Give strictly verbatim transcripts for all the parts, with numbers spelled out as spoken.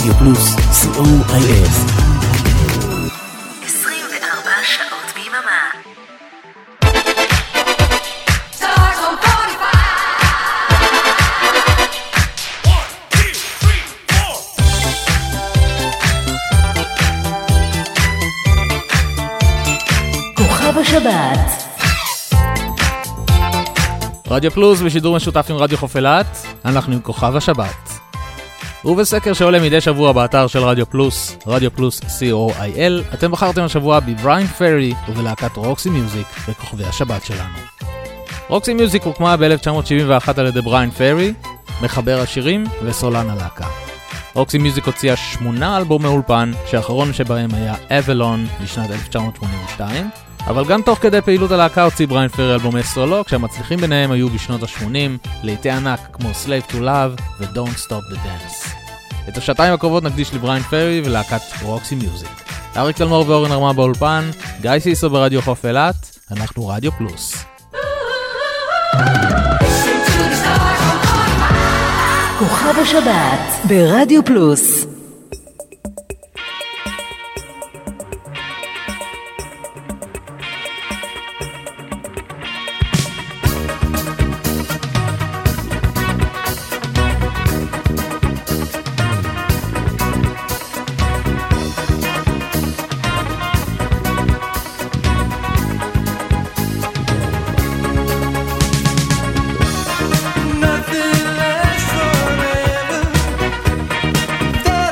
רדיו פלוס, סי או איי אל. עשרים וארבע שעות ביממה. כוכב השבת. רדיו פלוס בשידור משותף עם רדיו חוף אילת, אנחנו עם כוכב השבת. ובסקר שעולה מדי שבוע באתר של רדיו פלוס, רדיו פלוס סי או איי אל, אתם בחרתם השבוע בבריין פרי ובלהקת רוקסי מיוזיק בכוכבי השבת שלנו. רוקסי מיוזיק הוקמה ב-אלף תשע מאות שבעים ואחת על ידי בריין פרי, מחבר השירים וסולן הלהקה. רוקסי מיוזיק הוציאה שמונה אלבומי אולפן, שהאחרון שבהם היה אבלון בשנת אלף תשע מאות שמונים ושתיים, אבל גם תוך כדי פעילות הלהקה הוציא בריין פרי אלבומי סולו, כשהמצליחים ביניהם היו בשנות ה-שמונים, לעיתי ענק כמו Slave to Love ו-Don't Stop the Dance. את השעתיים הקרובות נקדיש לבריין פרי ולהקת רוקסי מיוזיק. אריק תלמור ואורן הרמה באולפן, גיא סיסו ברדיו חוף אילת, אנחנו רדיו פלוס. כוכב השבת ברדיו פלוס. Nothing lasts forever.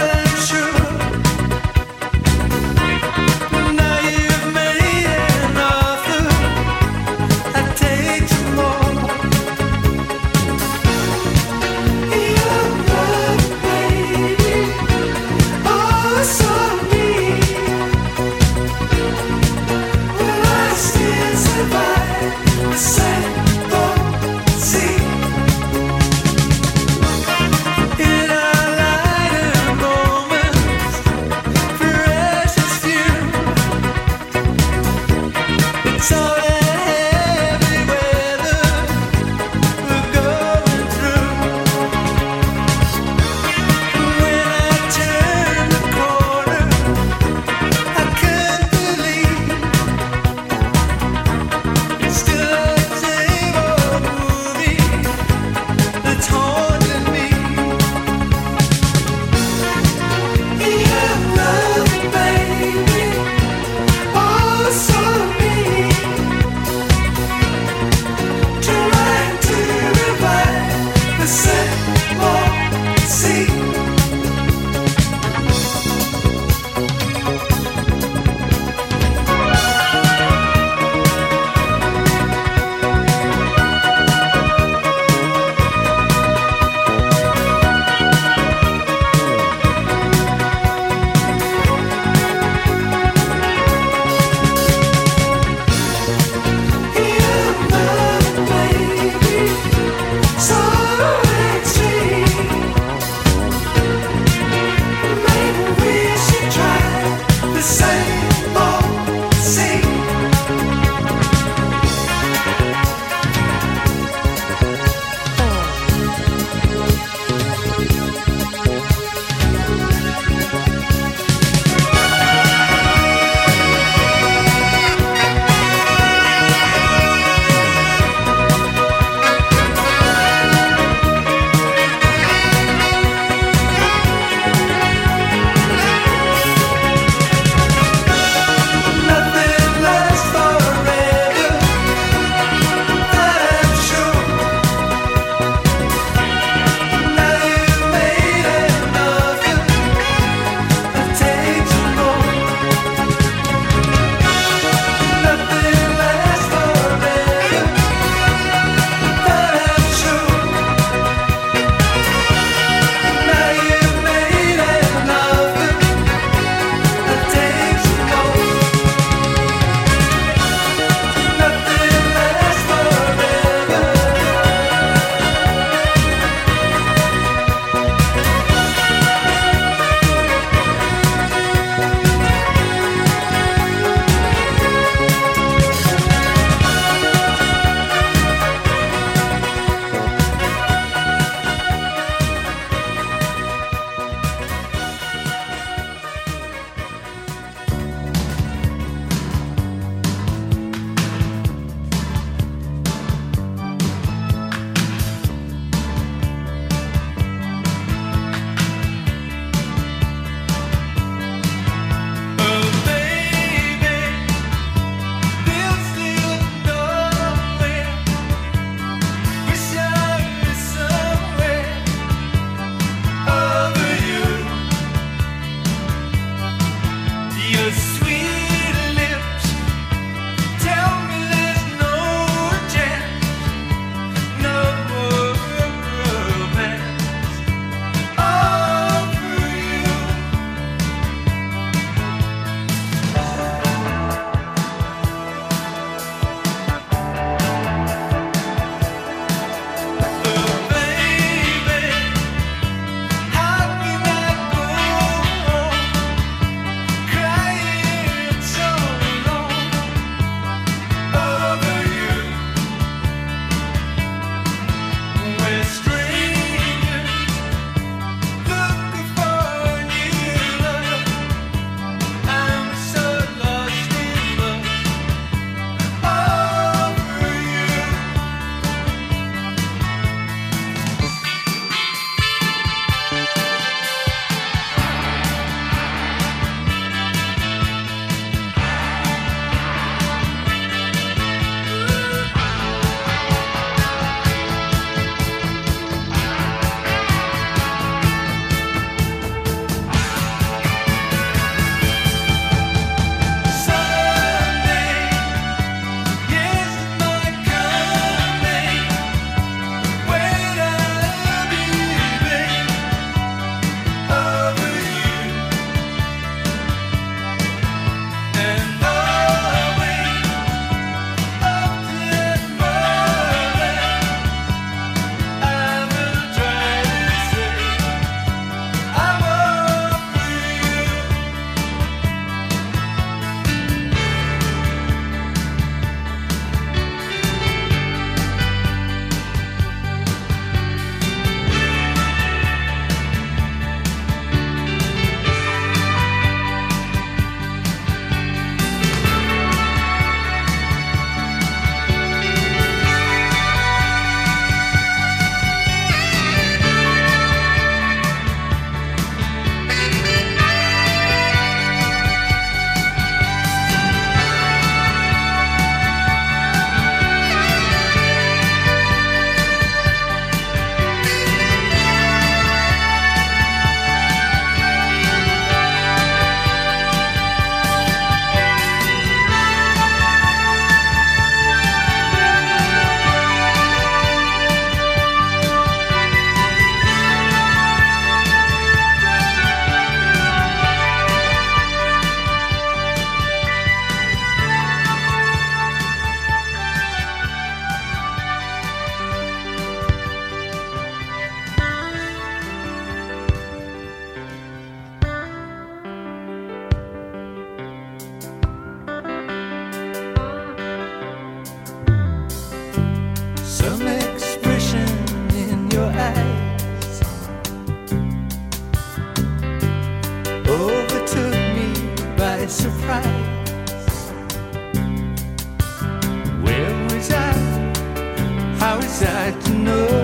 how is that to know?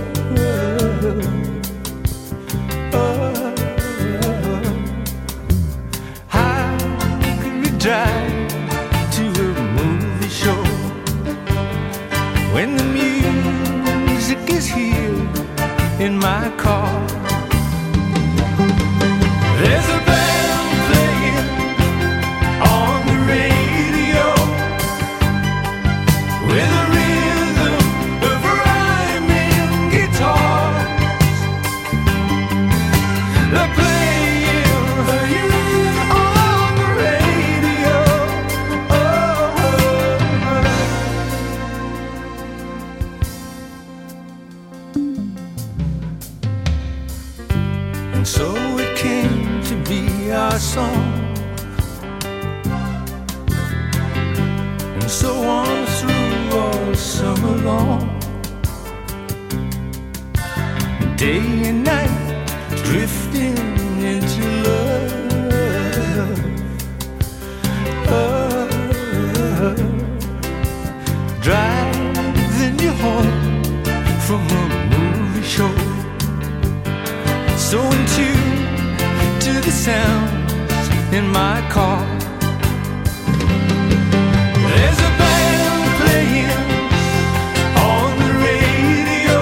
Oh, how could we drive to a movie show when the music is here in my car? There's a band playing on the radio with a rhythm of rhyming guitars. They're playing on the radio. Oh. And so it came to be our song, and so on through all summer long, day and night drifting into love. Oh, driving you home from a movie show, so in tune to the sounds in my car. There's a band playing on the radio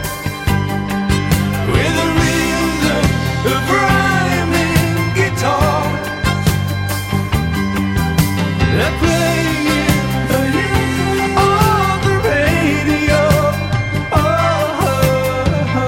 with a rhythm of rhyming guitars. They're playing on the radio. Oh, oh, oh.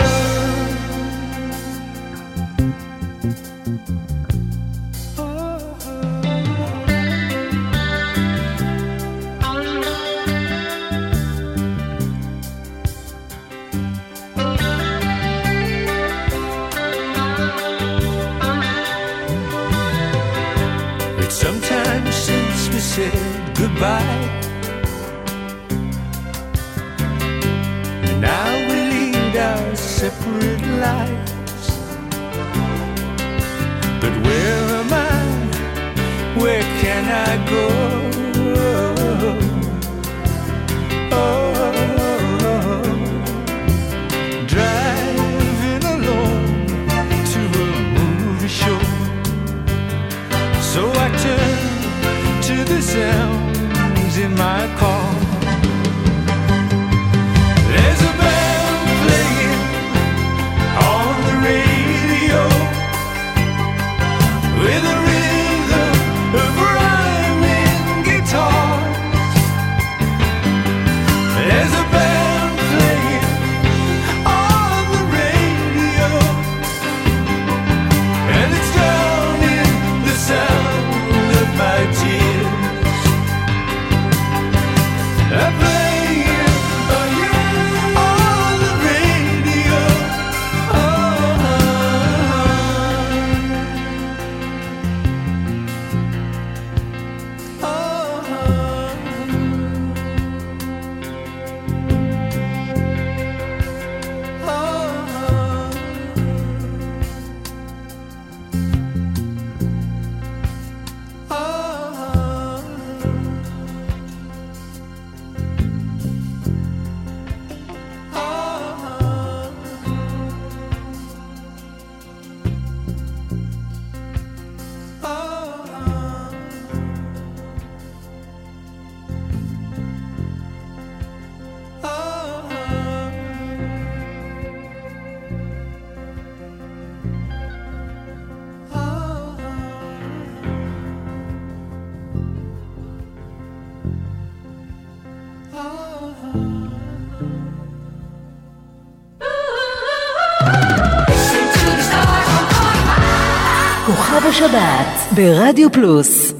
It's sometimes since we said goodbye, and now we lead our separate lives. But where am I? Where can I go? Oh, driving alone to a movie show, so I turn to the sounds in my car. There's a band playing on the radio with a rhythm of rhyming guitars. There's a band playing on the radio, and it's drowning the sound of my tears. I'm playing on the radio. Oh, כוכב השבת ברדיו פלוס.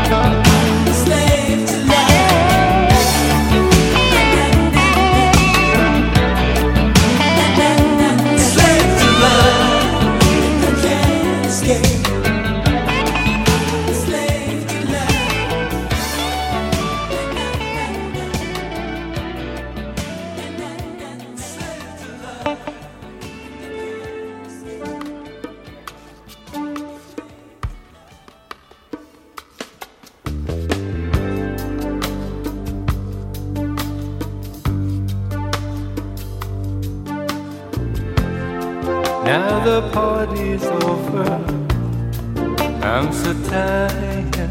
Now the party's over, I'm so tired.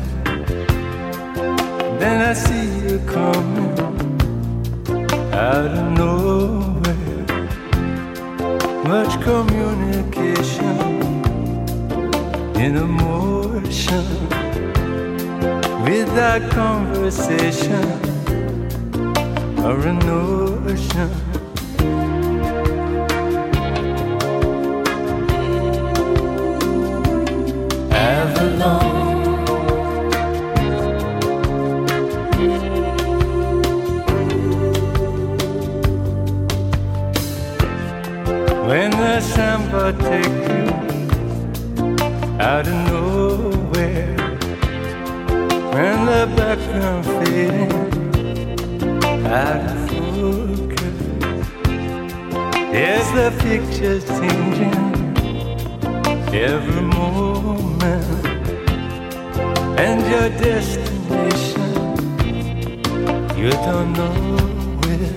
Then I see you coming out of nowhere. Much communication in emotion, without conversation or a notion. When the samba take you out of nowhere, when the background fading out of focus, there's the pictures changing every moment, and your destination you don't know where.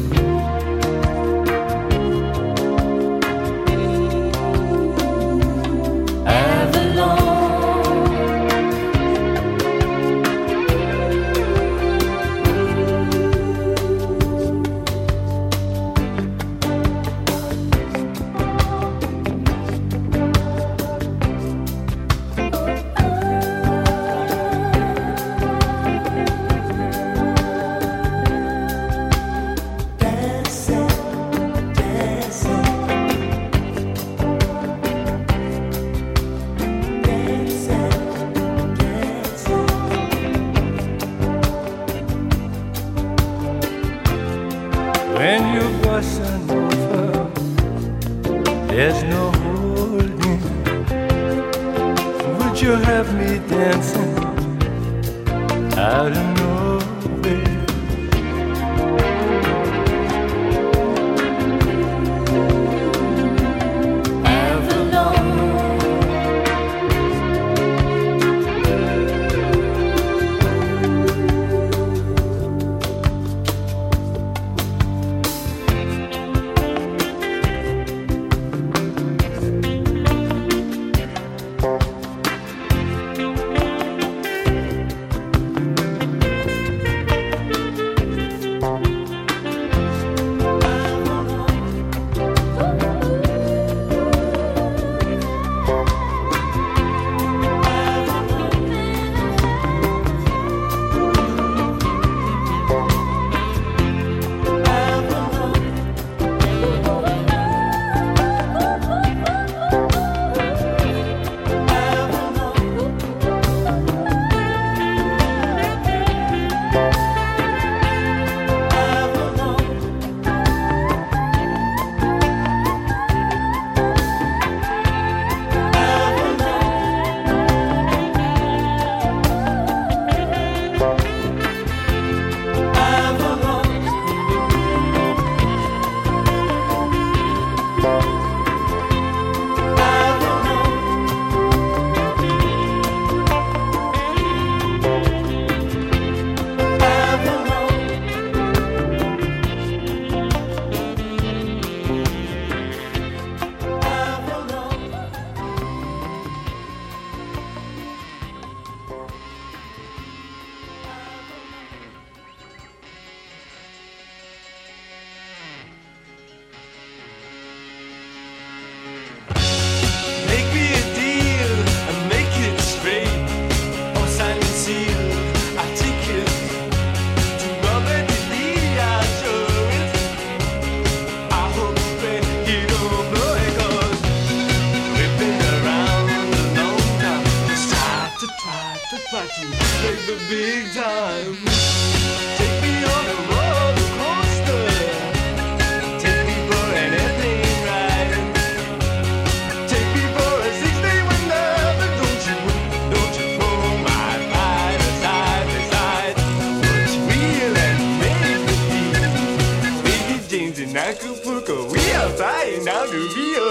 When you bustin' over, there's no holding. Would you have me dancing out of nowhere? try to try to make the big time. Take me on a roller coaster. Take me for an airplane ride. Take me for a six-day wonder. But don't you, don't you throw my ride aside, aside. What's real and make believe? Baby James in Acapulco, we are flying down to Rio.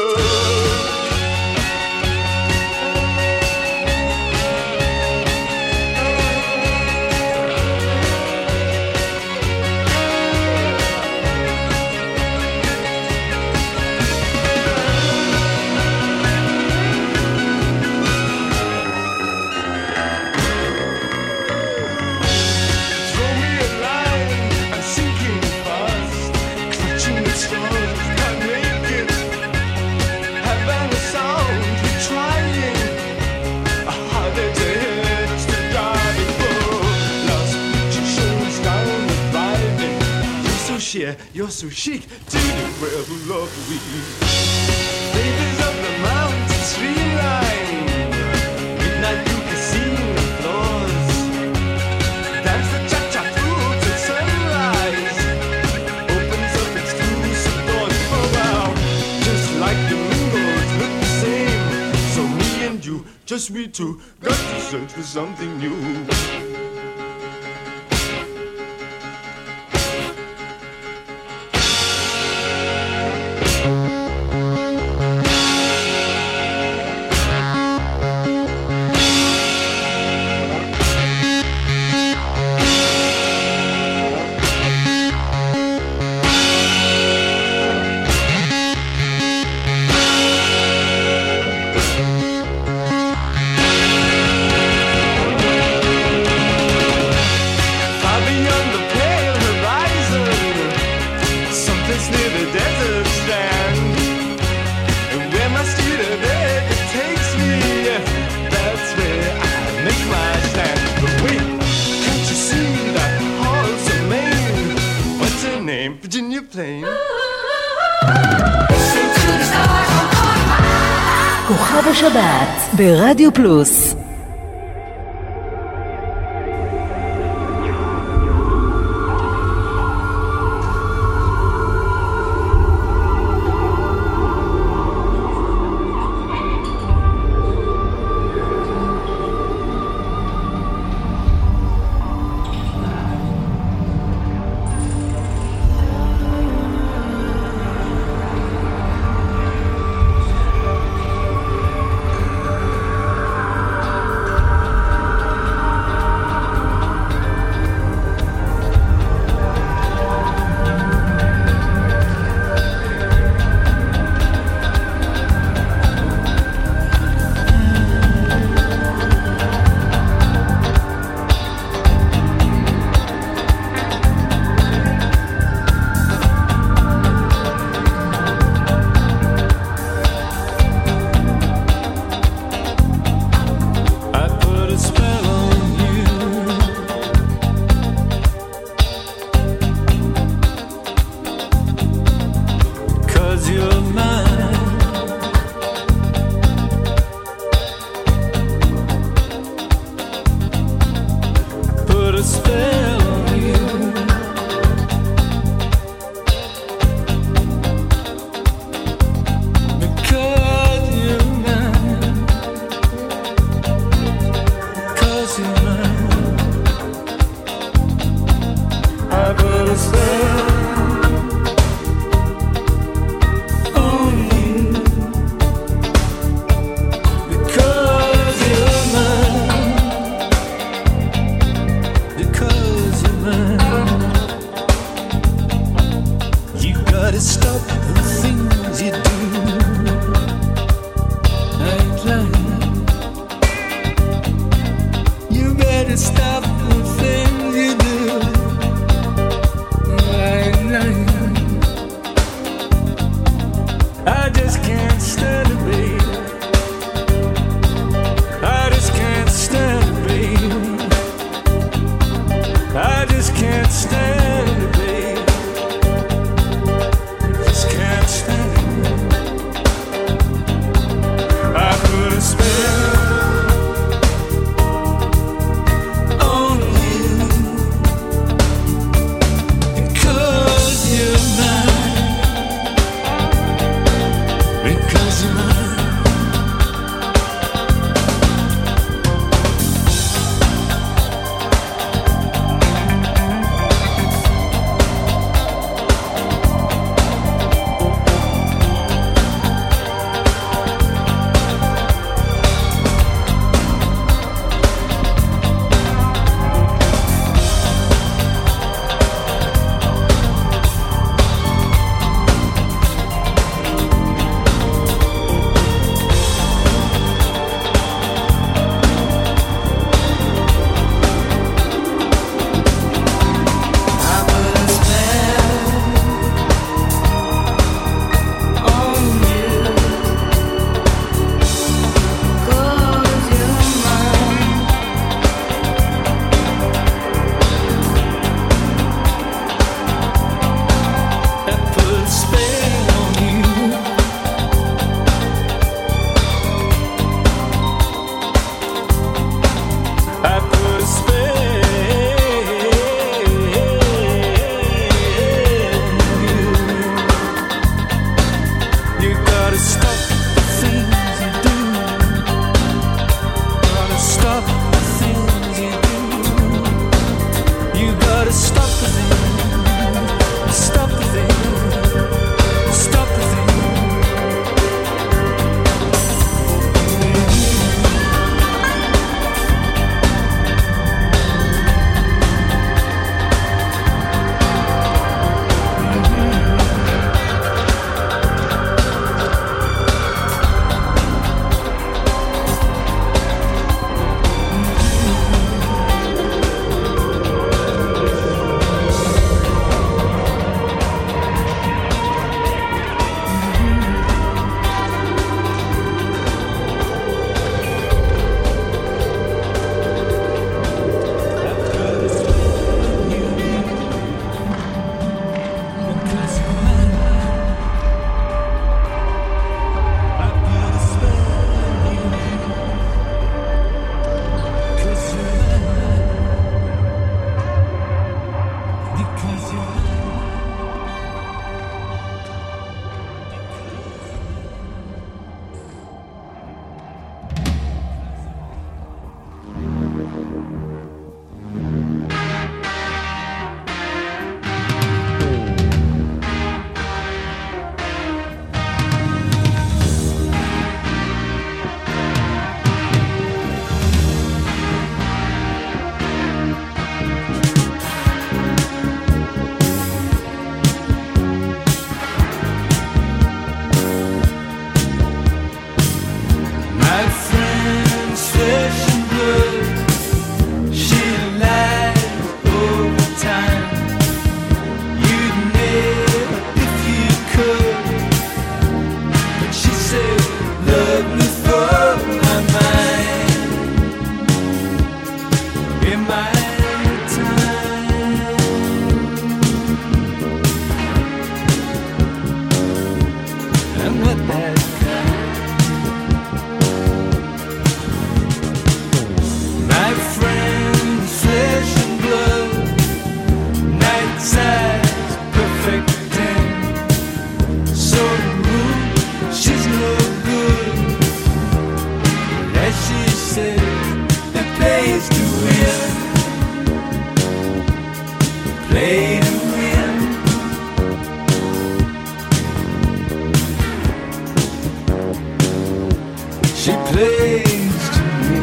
You're so chic to the world who love we. Ladies of the mountain streamline, midnight you can see the floors. Dance the cha-cha through to sunrise. Opens up exclusive doors for wow. Just like the windows look the same. So me and you, just we two, got to search for something new. כוכב השבת ברדיו פלוס. Because in my time. I'm not that kind. My friend, flesh and blood, night size, perfect ten. So rude, she's no good. As she said, the place to win. Play to win. She plays to win.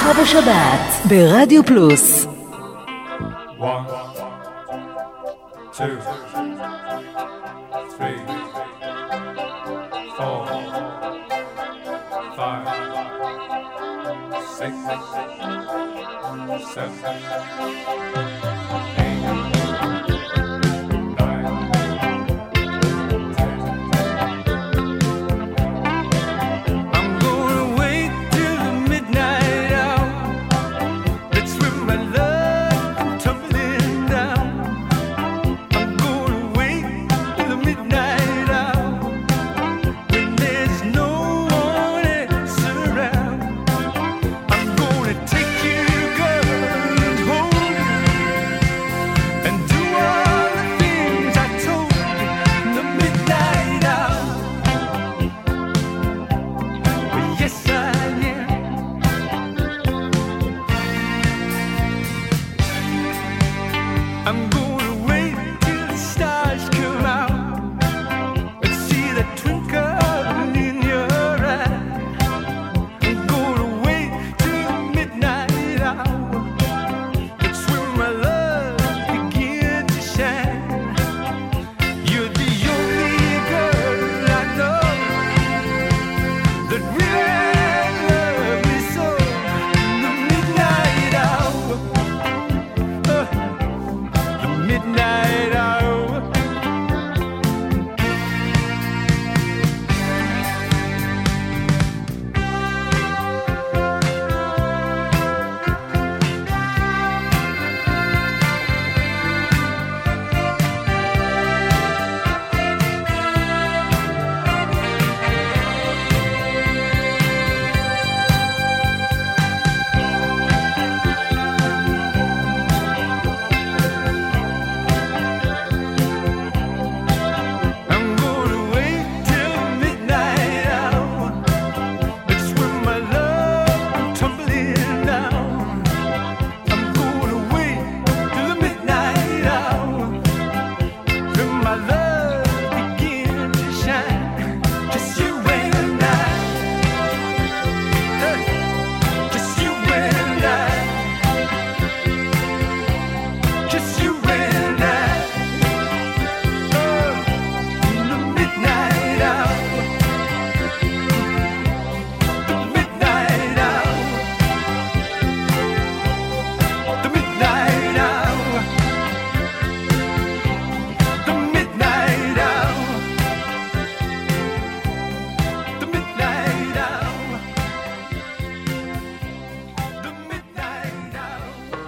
כוכב השבת ברדיו פלוס. One, two, three, four, five, six, seven, eight, nine, ten. I'm gonna wait till the midnight hour. That's when my love comes tumbling down. I'm gonna wait till the midnight hour when there's no one else around. I'm gonna take you, girl, and hold you and do all the things I told you in the midnight hour. Well, yes, I am. I'm gonna wait till the stars come out and see the twinkle in your eye. I'm gonna wait till the midnight hour. It's when my love begins to shine. You're the only girl I know that really loves me so. The midnight hour, uh, the midnight hour. I'm gonna wait till midnight hour. It's when my love comes tumbling down. I'm gonna wait till the midnight hour when my love begins to shine. Just you and I, hey, just you and I, just you and I. Oh, in the midnight hour, the midnight hour, the midnight hour, the midnight hour, the midnight hour, the midnight hour.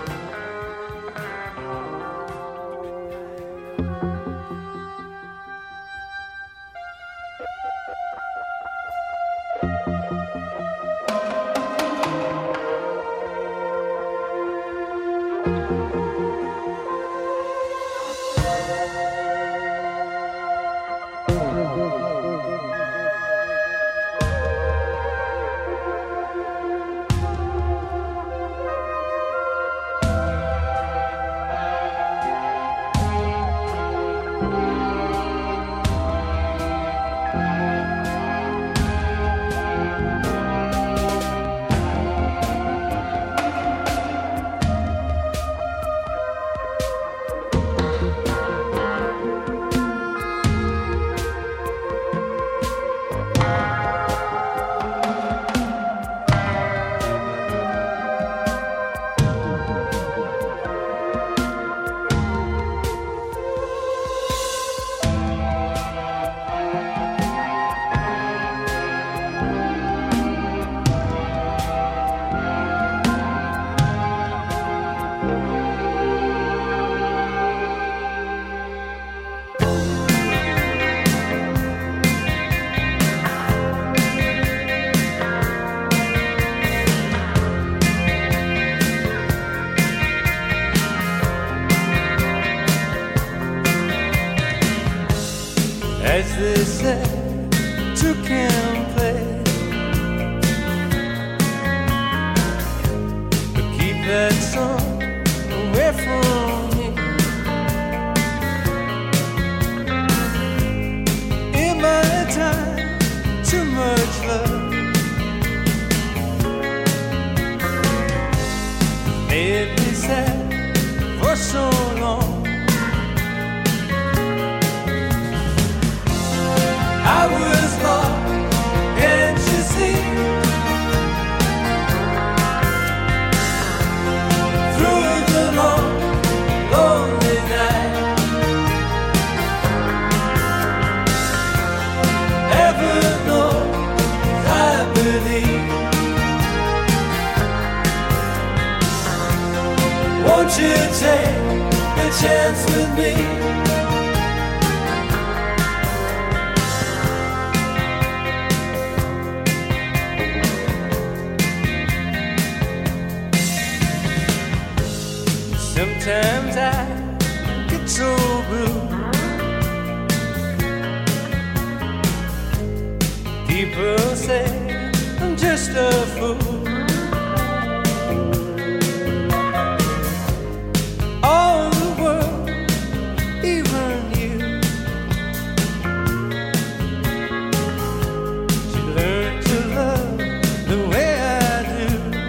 As they say, two can play, but keep that song away from me. In my time, too much love. Won't you take a chance with me? Sometimes I get so blue. People say I'm just a fool. All the world, even you, should learn to love the way I do.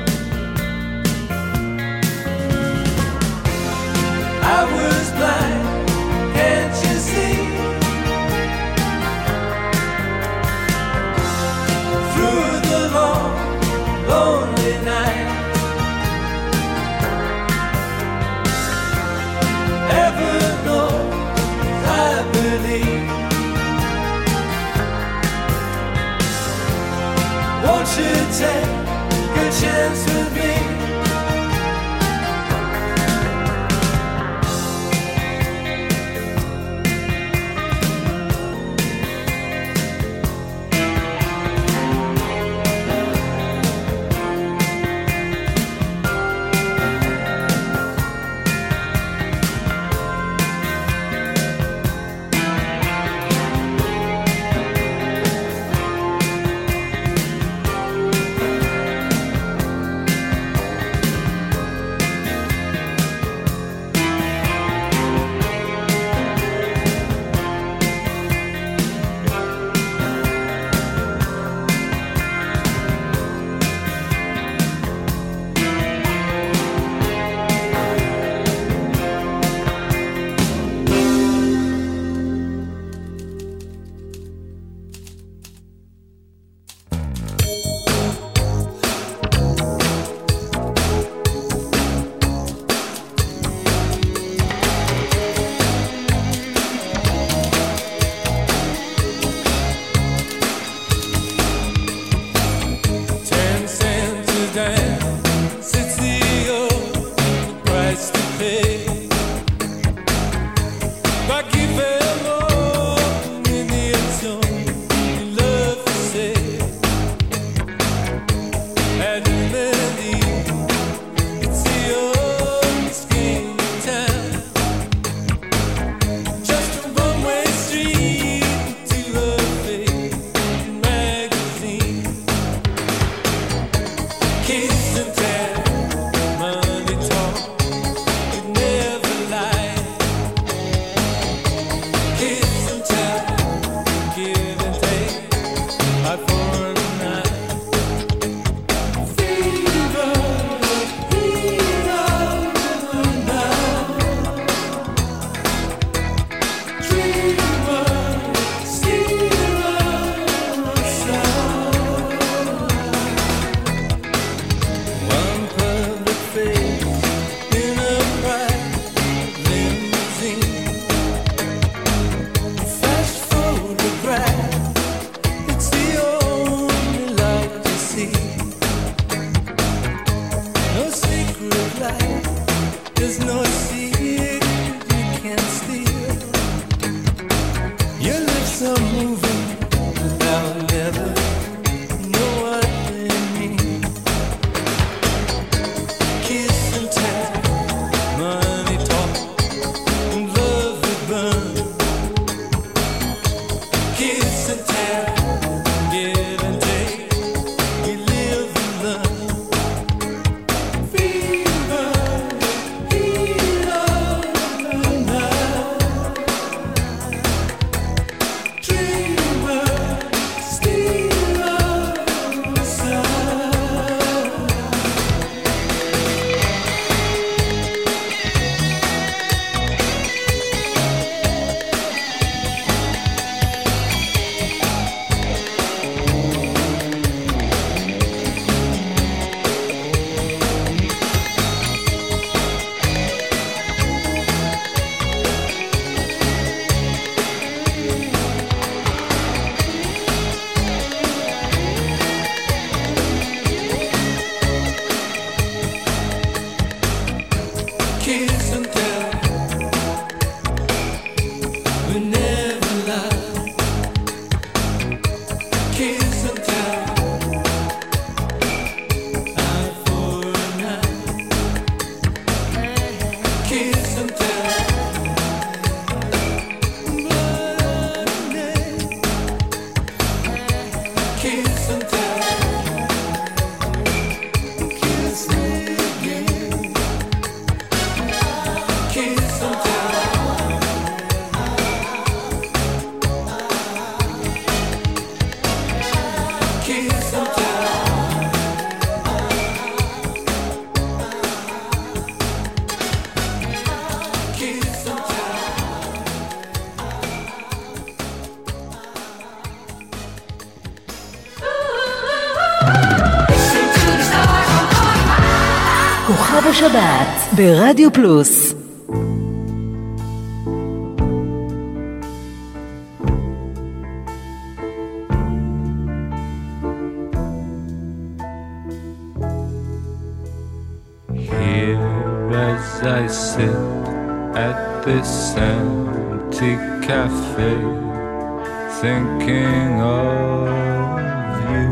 I was blind, can't you see? Through the long, lonely night, heaven knows I believe. Won't you take a chance with me? It's the only כוכב השבת ברדיו פלוס. Here as I sit at this empty cafe, thinking of you,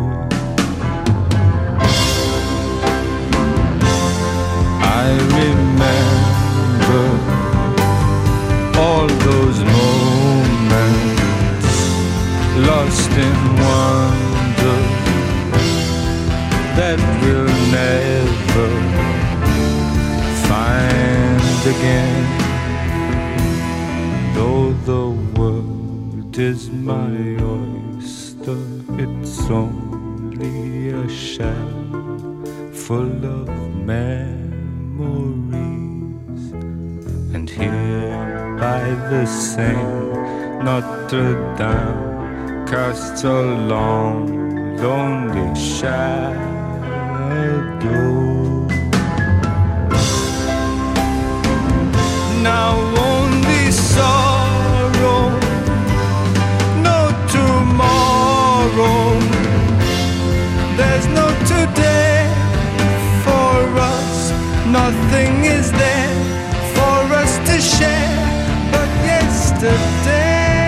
I remember all those moments lost in wonder that we'll never find again. Though the world is my oyster, it's only a shell full of memories. And here by the Seine, Notre Dame casts a long, lonely shadow. Now only sorrow, no tomorrow. There's no today for us. Nothing is there for us to share but yesterday.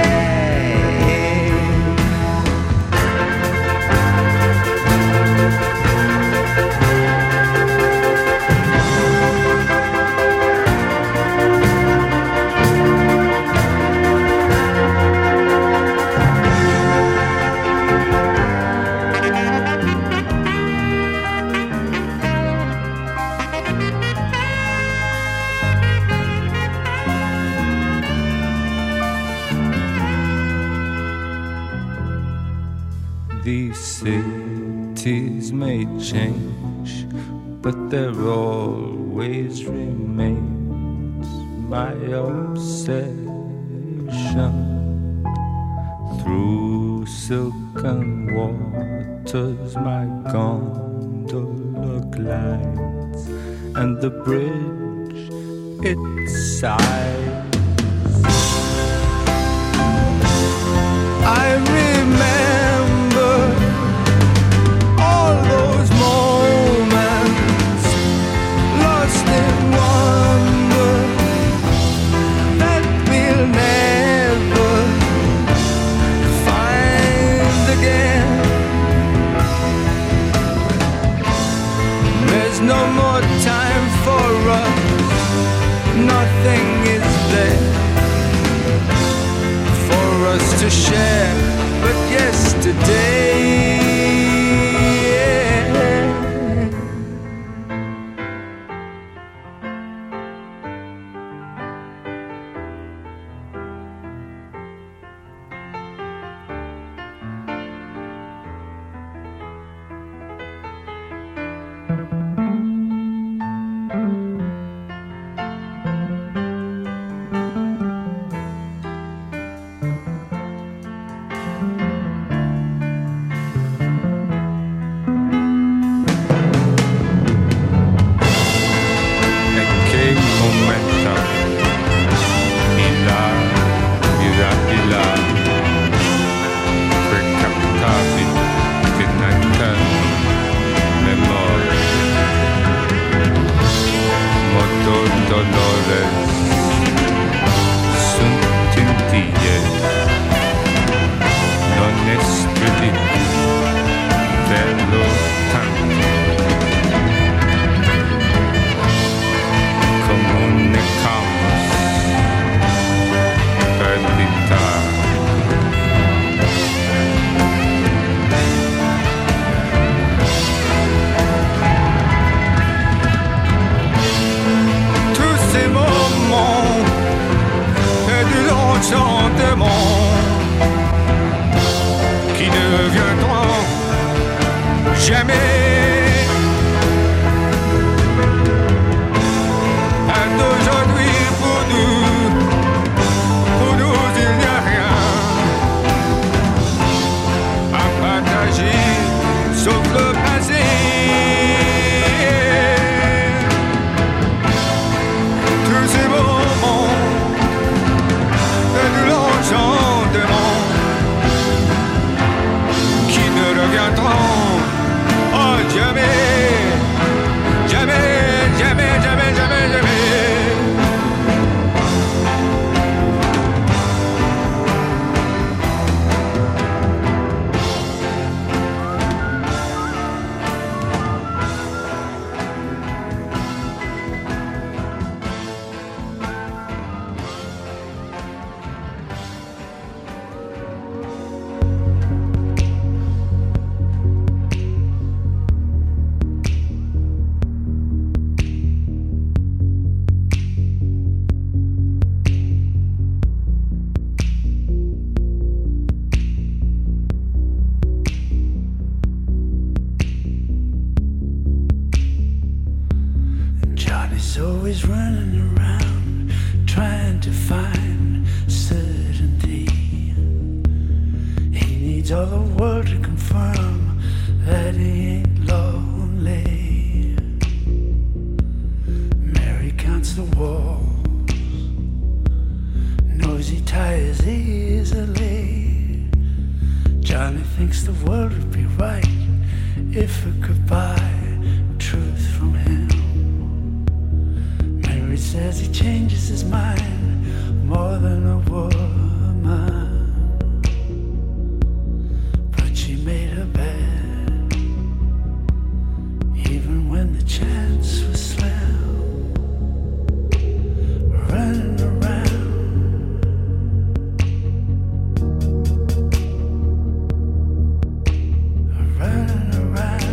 These cities may change, but there always remains my obsession. Through silken waters my gondola glides, and the bridge it sighs. I remember all those moments lost in wonder that we'll never find again. There's no more time for us, nothing is there for us to share but yesterday. solo tanto, come un camus perdita. Tous ces moments et de l'enchantement qui ne reviendront jamais. Et d'aujourd'hui pour nous, pour nous il n'y a rien à partager sauf le passé. Tous ces moments et de l'enchantement qui ne reviendront oh, jamais, jamais, jamais, jamais, jamais, jamais. Johnny's always running around trying to find certainty. He needs all the world to confirm that he ain't lonely. Mary counts the walls, knows he tires easily. Johnny thinks the world would be right if it could buy truth from him. He says he changes his mind more than a woman, but she made her bed even when the chance was slim. Running around, running around.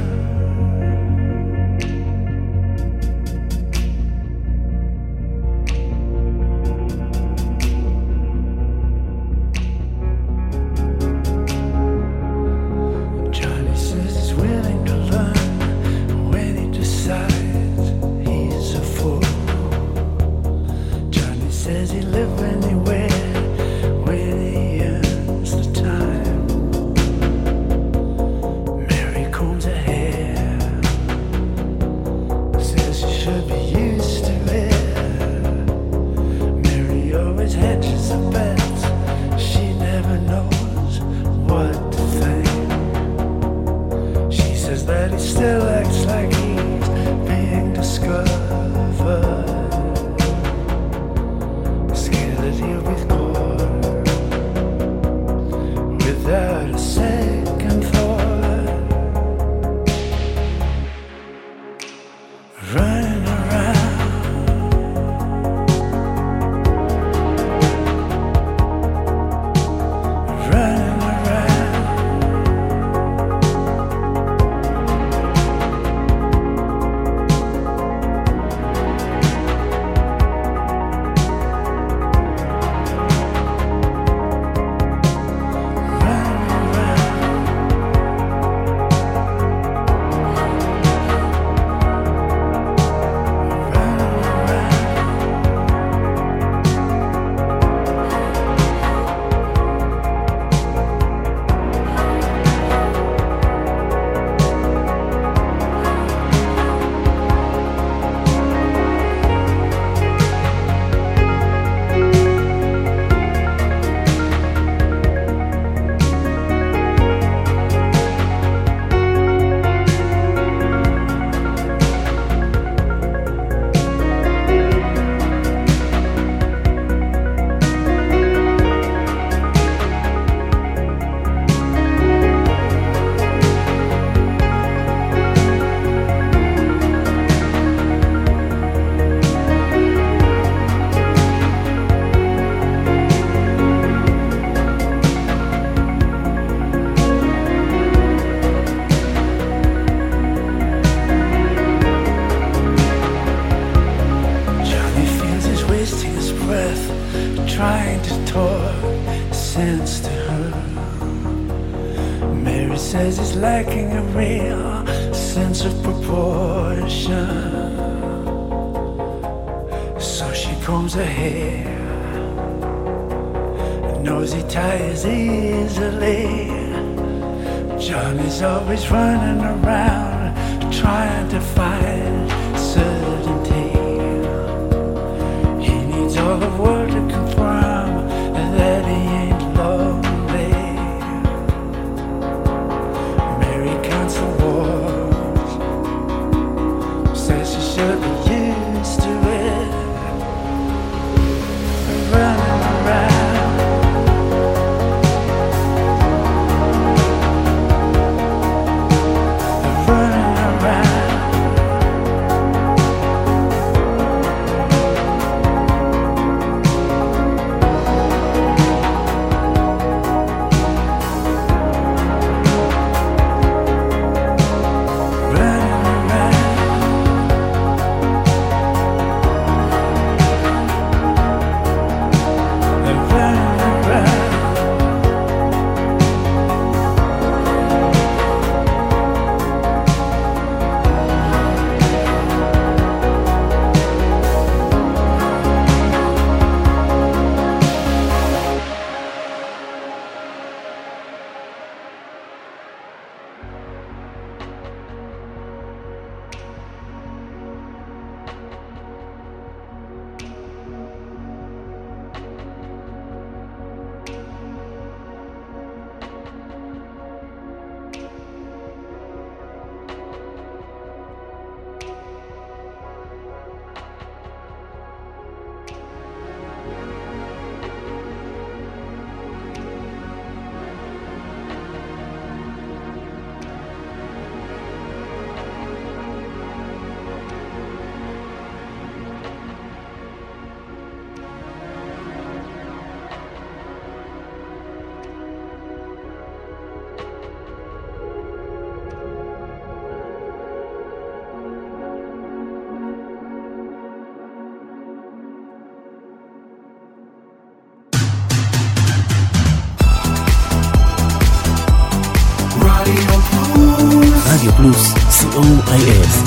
lacking a real sense of proportion. So she combs her hair, knows he tires easily. Johnny's always running around trying to find certainty. He needs all the world to confirm that he ain't lonely. Mary counts the wars, says she should be used to it. Running around, running around. רדיו פלוס, סי או איי אס.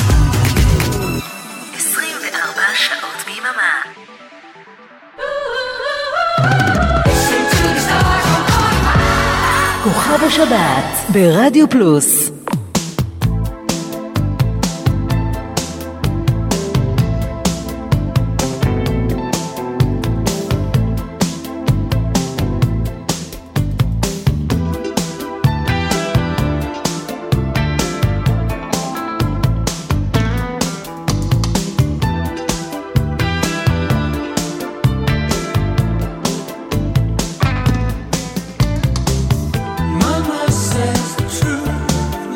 עשרים וארבע שעות ביממה. כוכב השבת ברדיו פלוס. Mama says the truth.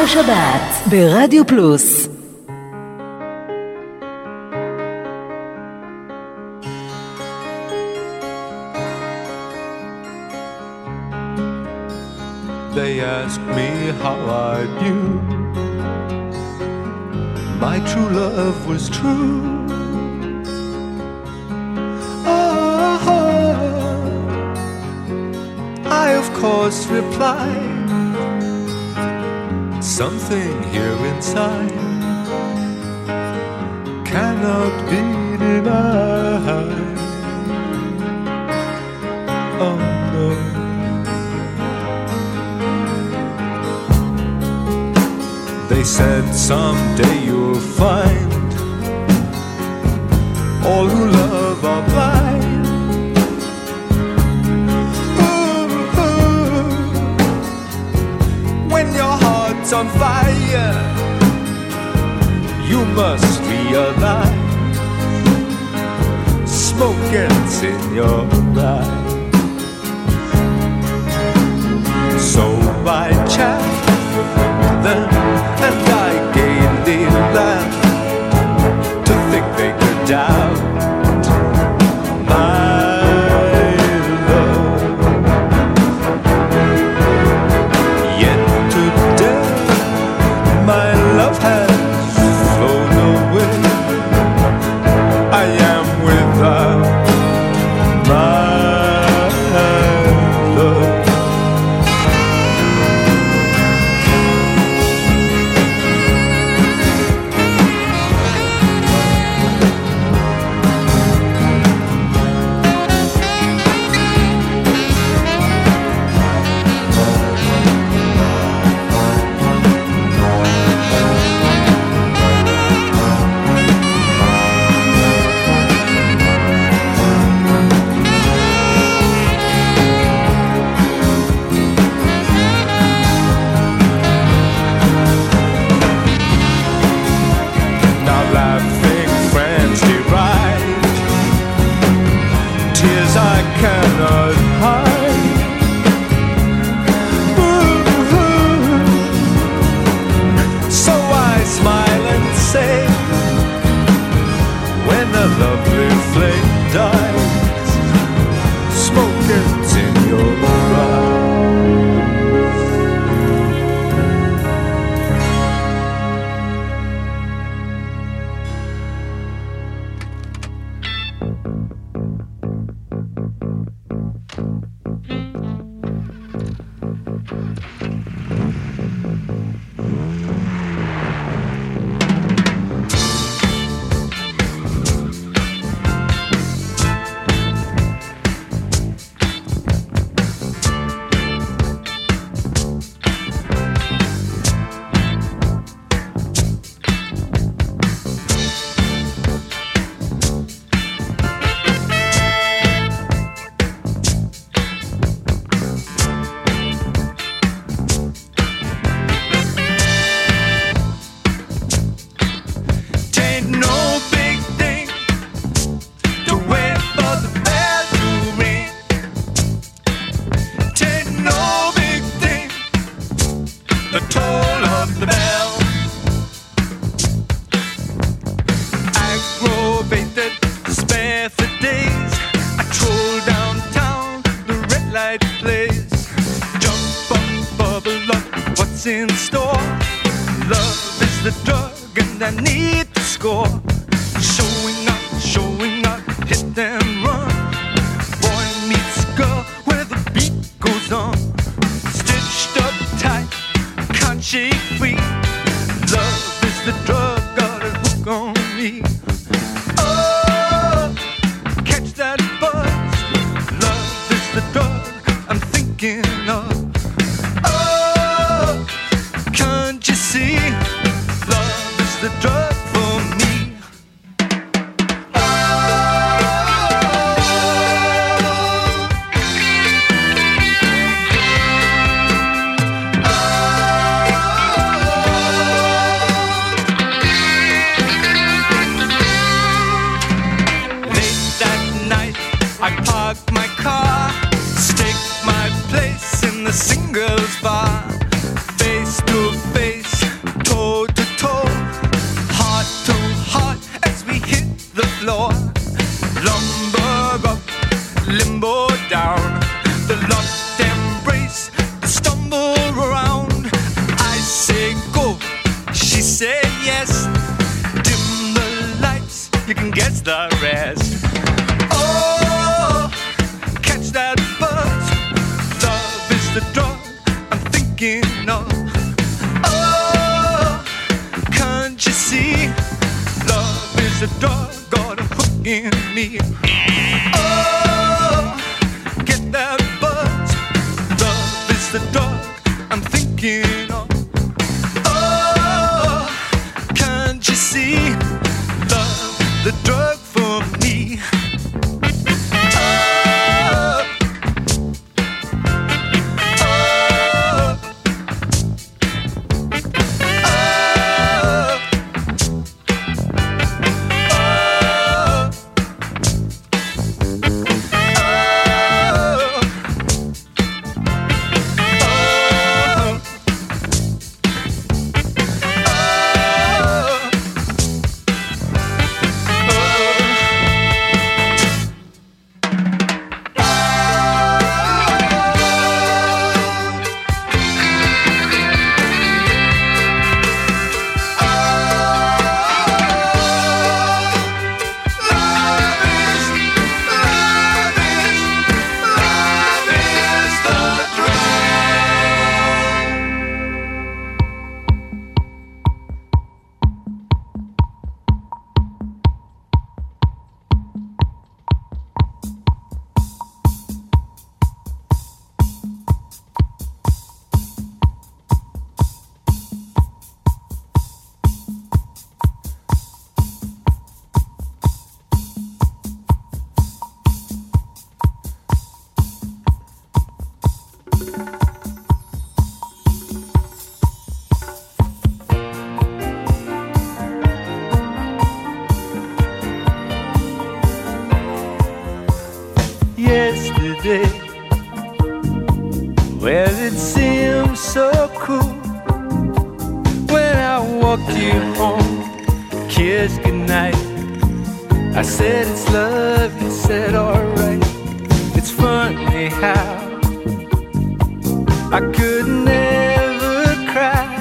השבת ברדיו פלוס. They ask me how I knew my true love was true. Oh, I of course replied, something here inside cannot be denied. Oh no. They said someday you'll find all who love are blind. Ooh, ooh. When your heart's on fire, you must realize smoke gets in your eye. So I chat them and I gaily laughed to think they could doubt my love. Yet today my love has flown away. I am without my love. the singles bar, face to face limbo down, the lost embrace, the stumble around. I say go, she say yes. Dim the lights, you can guess the rest. Oh, catch that buzz. Love is the drug I'm thinking of. Oh, can't you see? Love is the drug got a hook in me. Oh, get that buzz. Love is the drug I'm thinking of. Oh, can't you see? Love, the drug for me. Oh, oh, yesterday, well, it seemed so cool when I walked you home, kissed goodnight. I said it's love, you said alright. It's funny how I could never cry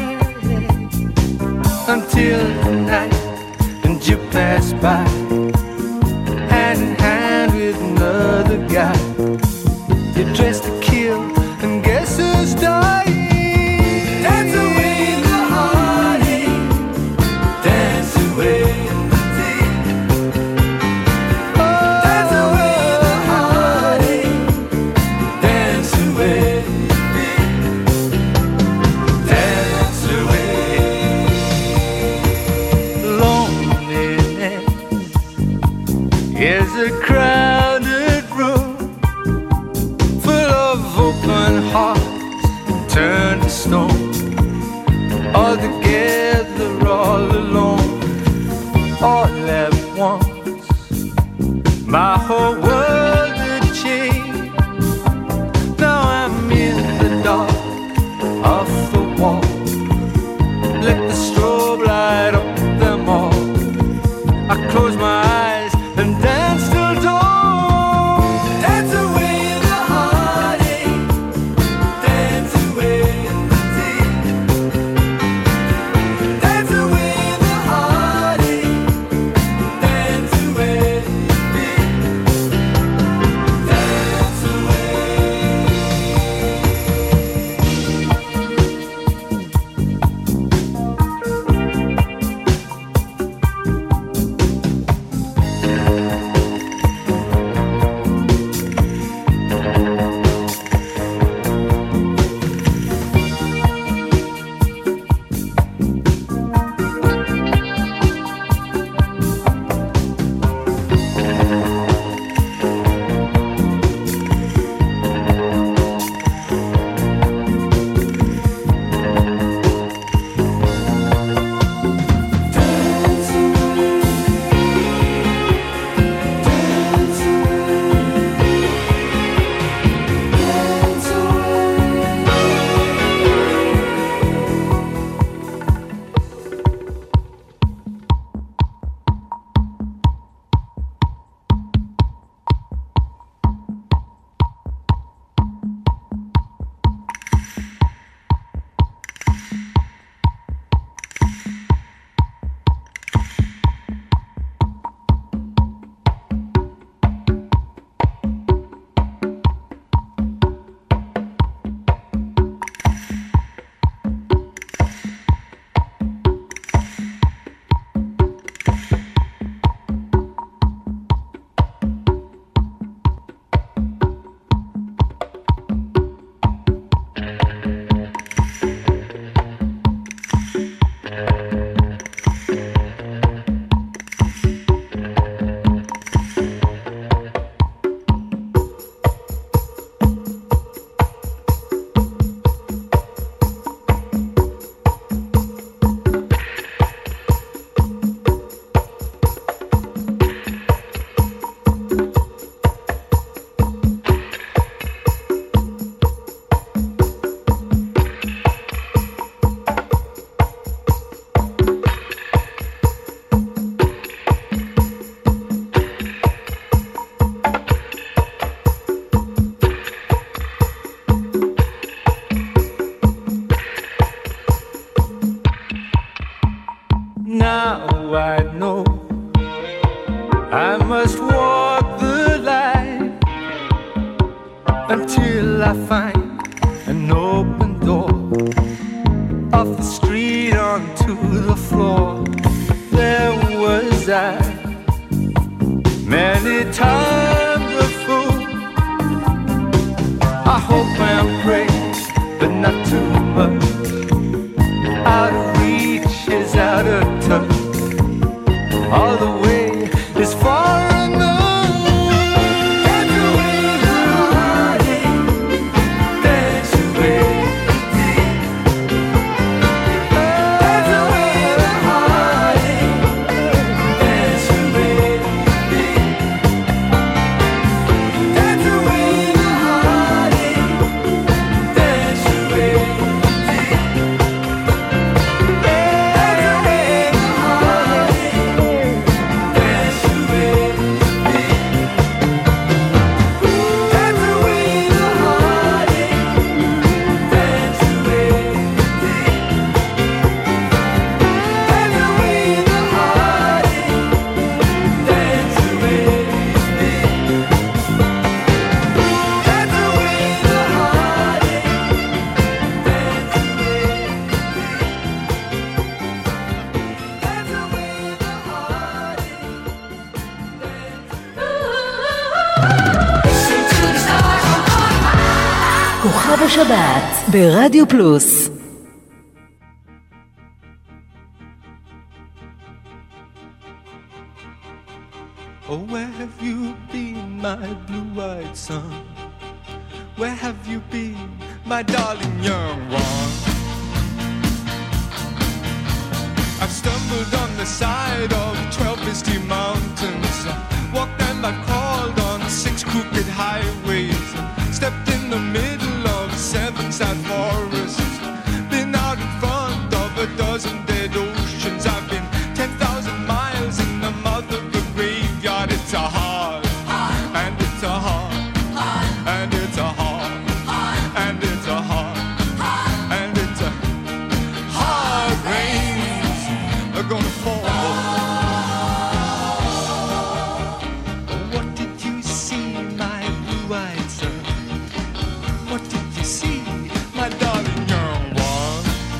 until the night and you passed by, hand in hand with another guy. You're dressed to kill, and guess who's dying? Dance away the heartache, dance away the tears. Oh, dance away the heartache, dance away the fear. Dance away loneliness is a crowded room full of open hearts turned to stone, all together, all alone, all at once. My whole world had changed. Now I'm in the dark of the wall. Let the strobe light up them all. I close my eyes and dance till dawn. Dance away the heartache, dance away the tears. Dance away the heartache, dance away the fear. until I find an open door off the street onto the floor. There was I, many times a fool. I hope and pray, but not too much. Out of reach is out of touch. All the way is far enough. Dance away the heartache, dance away the day. Dance away the heartache, dance away the day. Dance away the heartache, dance away the day. Dance away the כוכב השבת ברדיו פלוס. Oh, where have you been, my blue-eyed son? Where have you been, my darling young one? I've stumbled on the side of twelve misty mountains, walked and I crawled on six crooked highways, stepped in the middle of seven sad forests, been out in front of a dozen dead oceans. I've been ten thousand miles in the mouth of the graveyard. It's a hard, and it's a hard, and it's a hard, and it's a hard, and it's a hard rains are gonna fall. What did you see, my blue-eyed son? What did you see, my darling young one?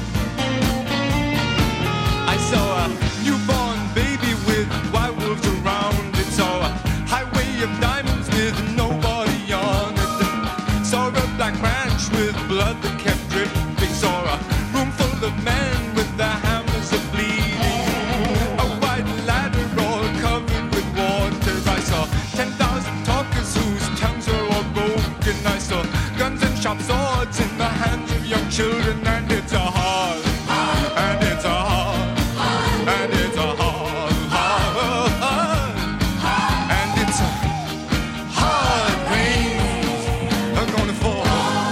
I saw a newborn baby with white wolves around it. Saw a highway of diamonds with nobody on it. Saw a black branch with blood that kept dripping. Saw a room full of men with their hammers of bleeding. A white ladder all covered with water. I saw ten thousand talkers whose tongues were all broken. I saw guns and sharp swords in the hands of young children. And it's a hard, and it's a hard, and it's a hard, hard, hard, and it's a hard rain are gonna fall.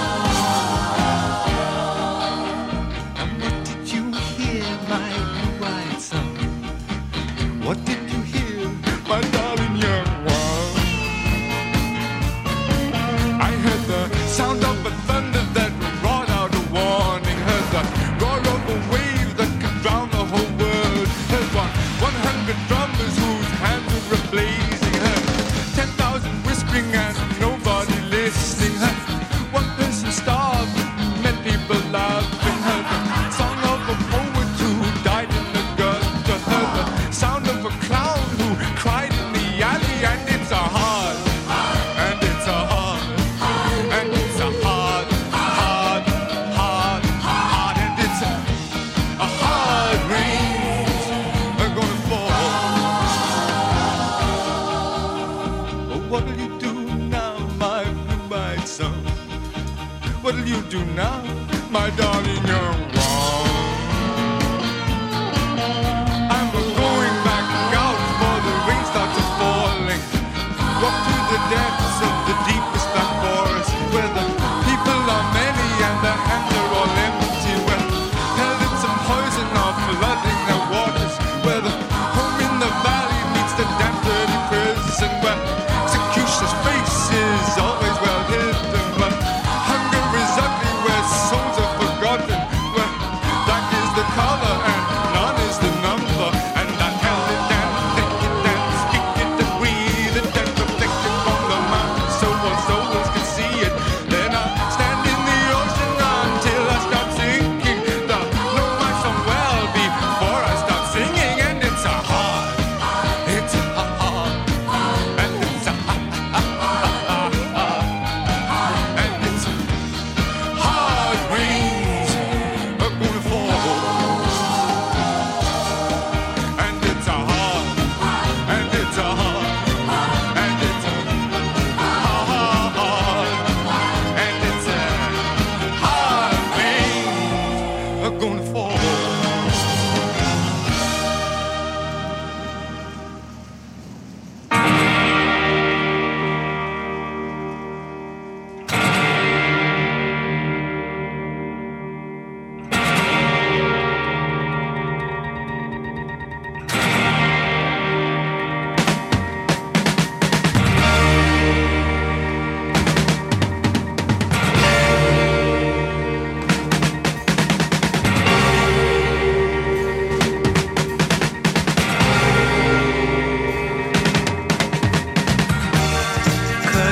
And what did you hear, my blue-eyed son? What did you hear, my darling young one? I heard the sound of a thunder that brought out a warning. Heard the roar of a wave that could drown the whole world. Heard one, one hundred drummers whose hands were blazing. Heard ten thousand whispering and nobody listening. Heard one person starved, many people laughing. Heard the song of a poet who died in the gutter. Heard the sound of a clown who cried in the alley. And it's a hard, and it's a hard, and it's a hard, hard, hard, hard, and it's a, a hard rain are gonna fall. But what'll you do now, my blue-eyed son? What'll you do now, my darling young one? I'm going back out for the rain starts falling. Walk through the depths of the deepest black forest, where the people are many and their hands are all empty, where pellets of poison are flooding their waters, where the home in the valley meets the damp dirty prison, where executioner's face is always well hidden, but hunger is ugly, where souls are forgotten, where black is the color and none is the number, and I tell it and think it and speak it and breathe it and reflect it from the mountain, so on, so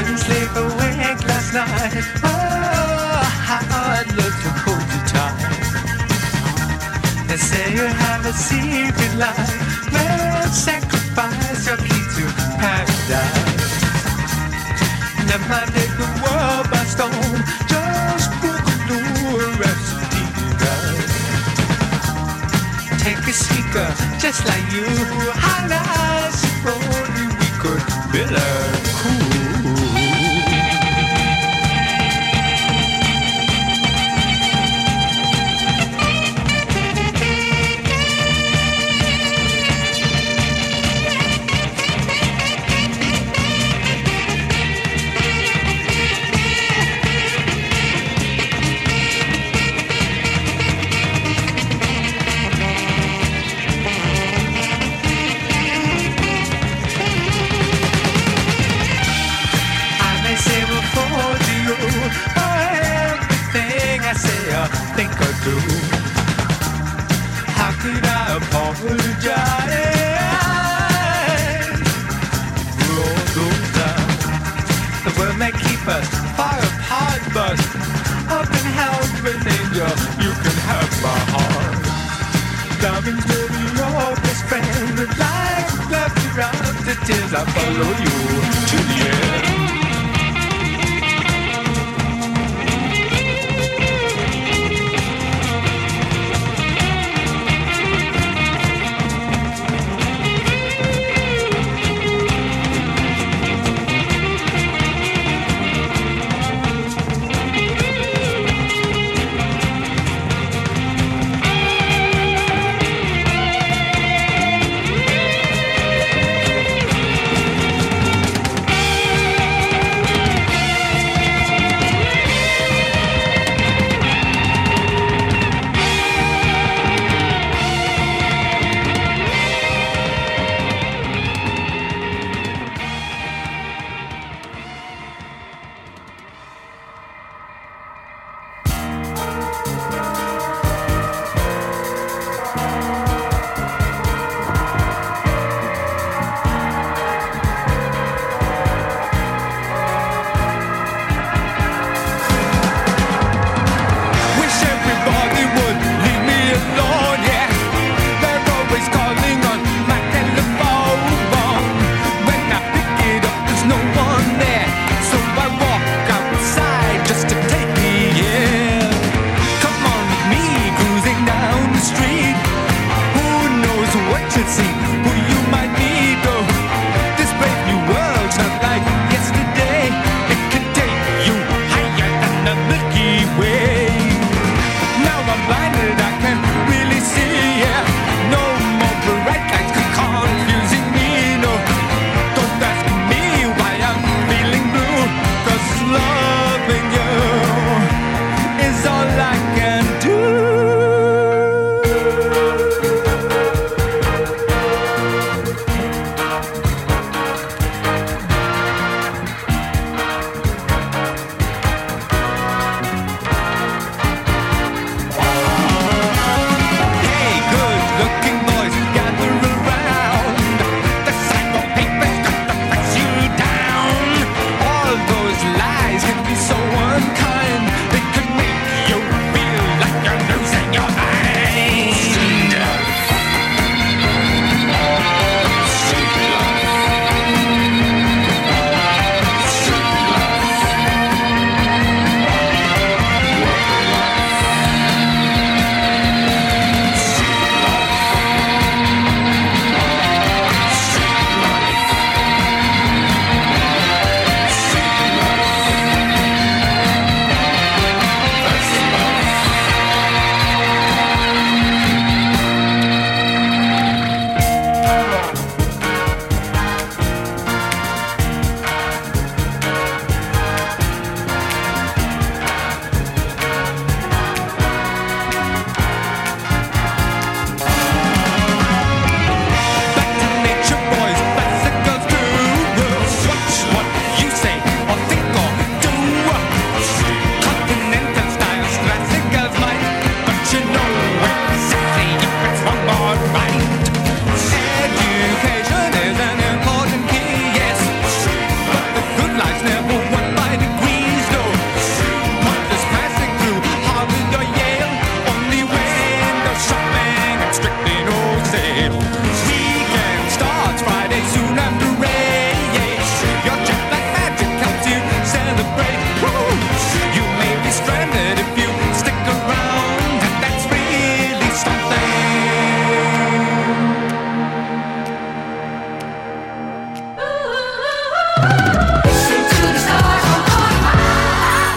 couldn't sleep awake last night. Oh, how I'd love to hold you tight. They say you have a secret life. Let's sacrifice your key to paradise. Never mind, take the world by storm. Just book a new rhapsody, right? Take a seeker just like you. How nice if only we could build a cool. Think or do. How could I apologize for all those times? The world may keep us far apart, but up in heaven, angel, you can have my heart. Loving's maybe your best friend, but like left around the tears, I follow you to the end.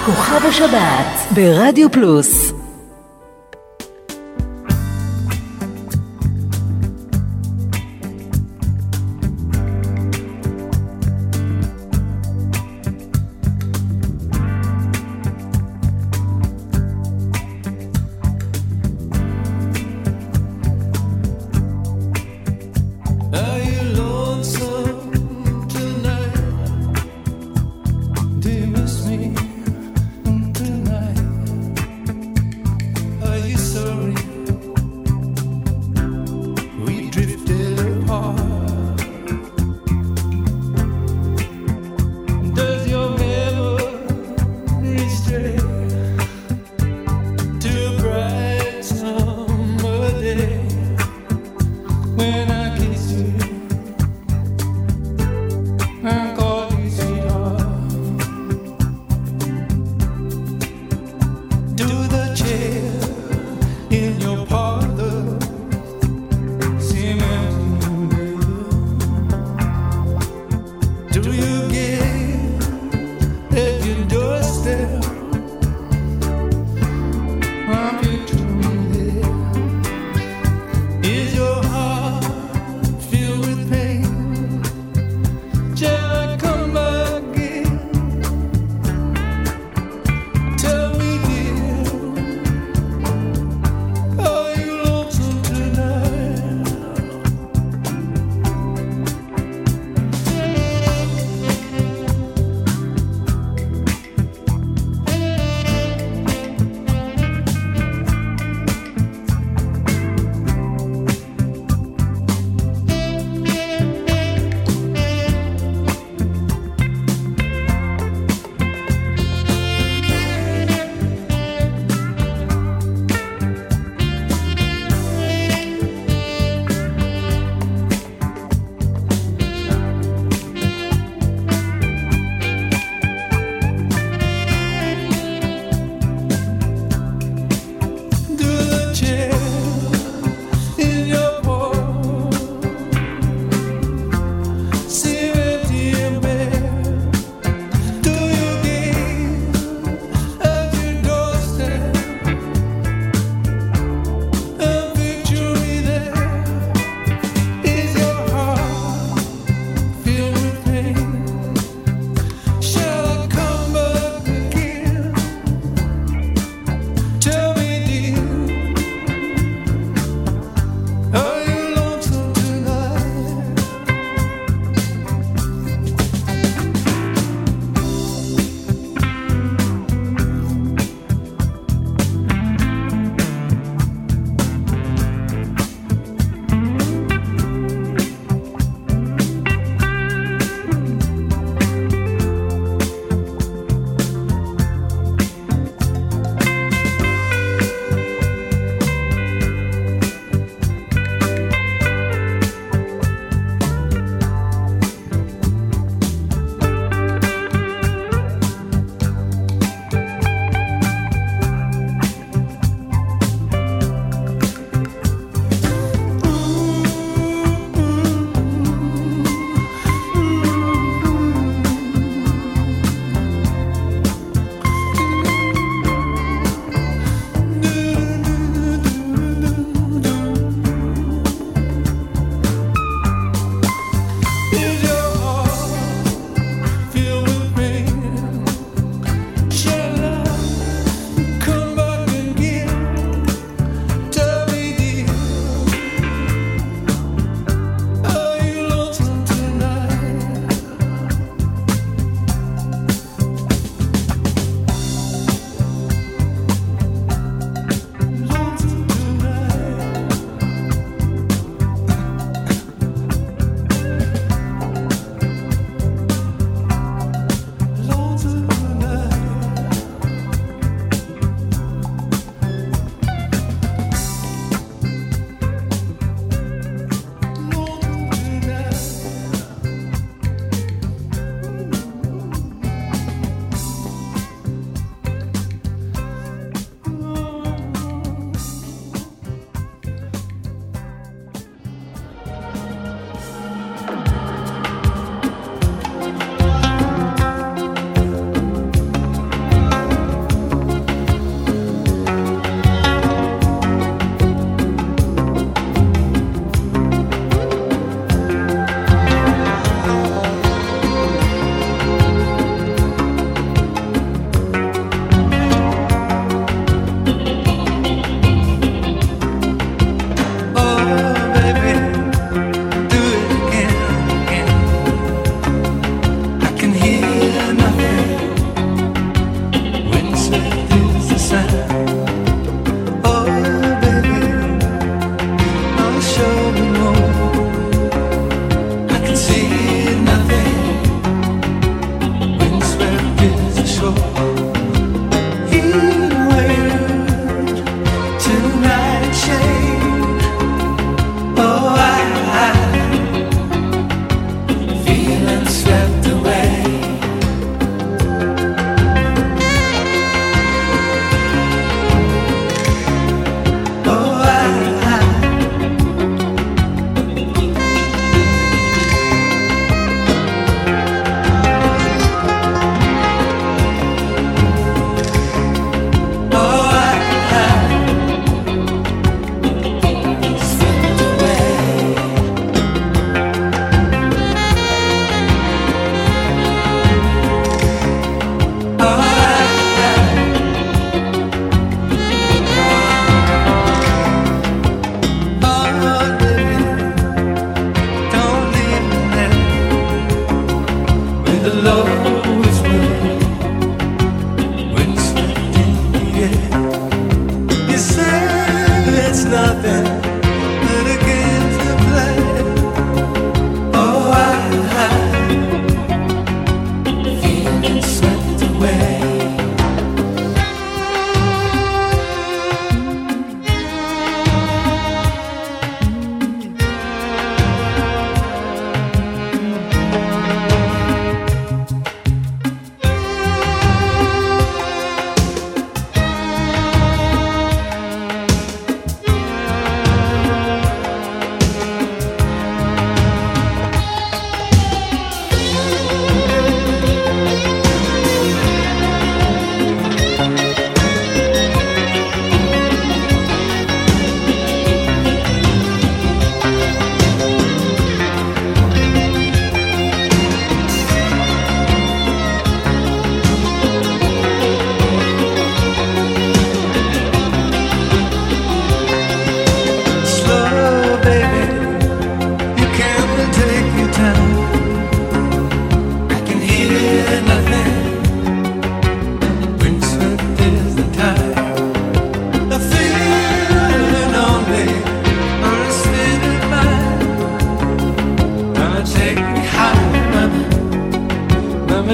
כוכב השבת ברדיו פלוס. Do you miss me tonight?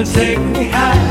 take me high.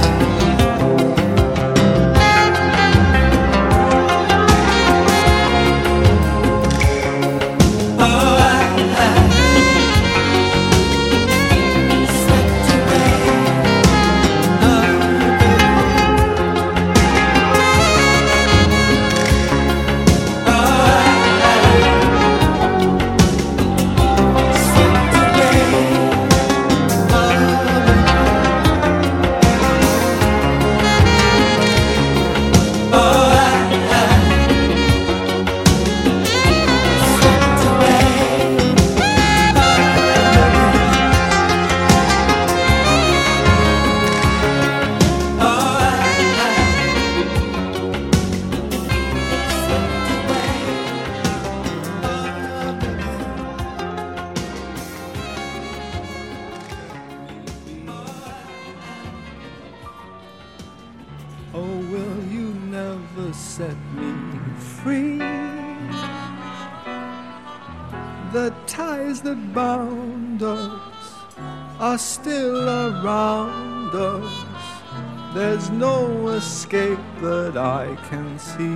Still around us, there's no escape that I can see,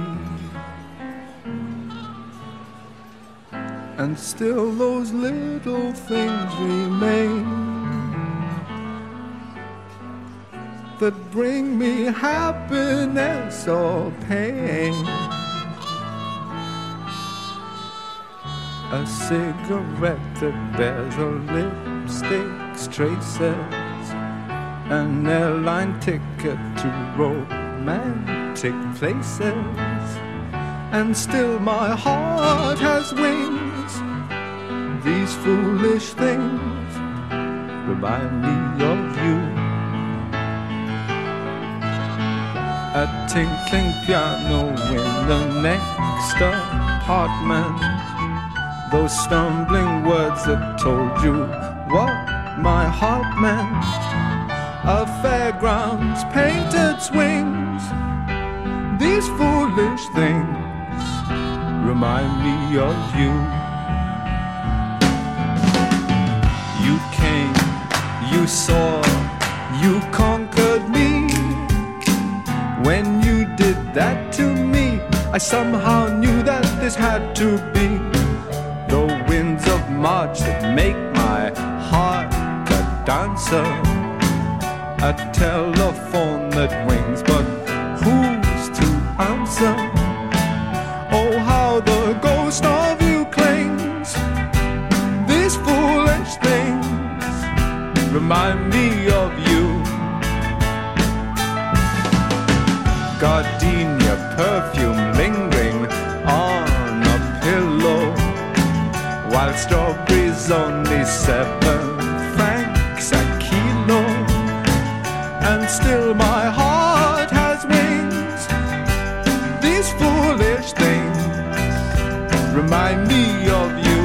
and still those little things remain that bring me happiness or pain. A cigarette that bears a lipstick's traces, an airline ticket to romantic places, and still my heart has wings. These foolish things remind me of you. A tinkling piano in the next apartment, those stumbling words that told you what my heart meant. A fairground's painted swings. These foolish things remind me of you. You came, you saw, you conquered me. When you did that to me, I somehow knew that this had to be the winds of March that make my heart a dancer, a telephone that rings, but who's to answer? Oh, how the ghost of you clings. These foolish things remind me of you. Gardenia perfume lingering on a pillow, while strawberries only seven francs a kilo, and still my heart has wings. These foolish things remind me of you.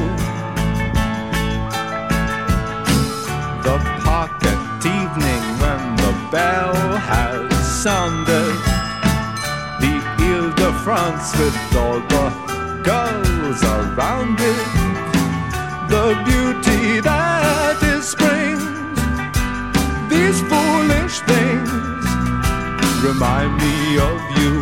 The park at evening when the bell has sounded, the Ile-de-France with all the girls around it, the beauty that is spring. These foolish things remind me of you.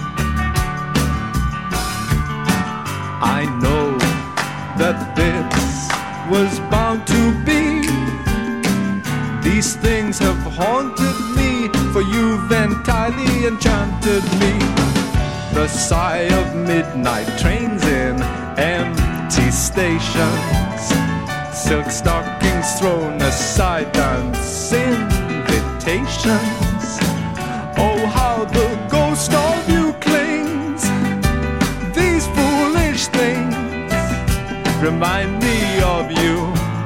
I know that this was bound to be. These things have haunted me, for you've entirely enchanted me. The sigh of midnight trains in empty stations, silk stockings thrown aside, dance invitations. Oh, how the ghost of you clings. These foolish things remind me of you.